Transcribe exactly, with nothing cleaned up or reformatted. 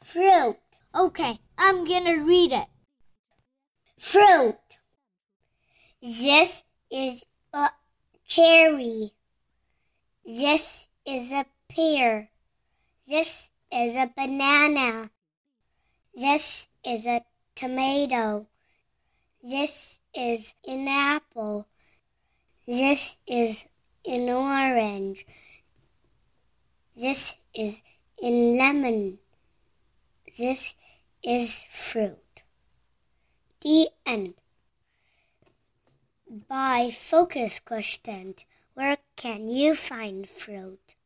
Fruit. Okay, I'm gonna read it. Fruit. This is a cherry. This is a pear. This is a banana. This is a tomato. This is an apple. This is an orange. This is a lemon. This is fruit. The end. By Focus Question. Where can you find fruit?